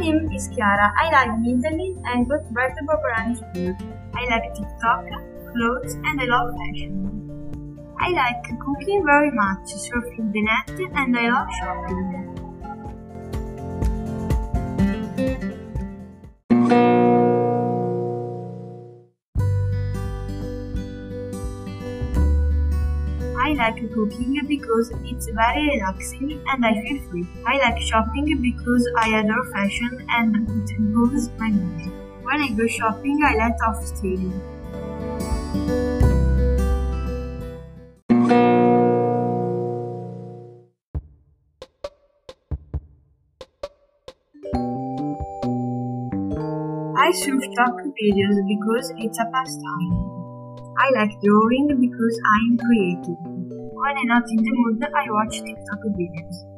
name is Chiara. I like the internet and go to Berto Borborani School. I like TikTok, clothes, and I love fashion. I like cooking very much, surfing the net, and I love shopping. I like cooking because it's very relaxing and I feel free. I like shopping because I adore fashion and it improves my mood. When I go shopping, I let off stealing. I surf TikTok videos because it's a pastime. I like drawing because I am creative. When I'm not in the mood, I watch TikTok videos.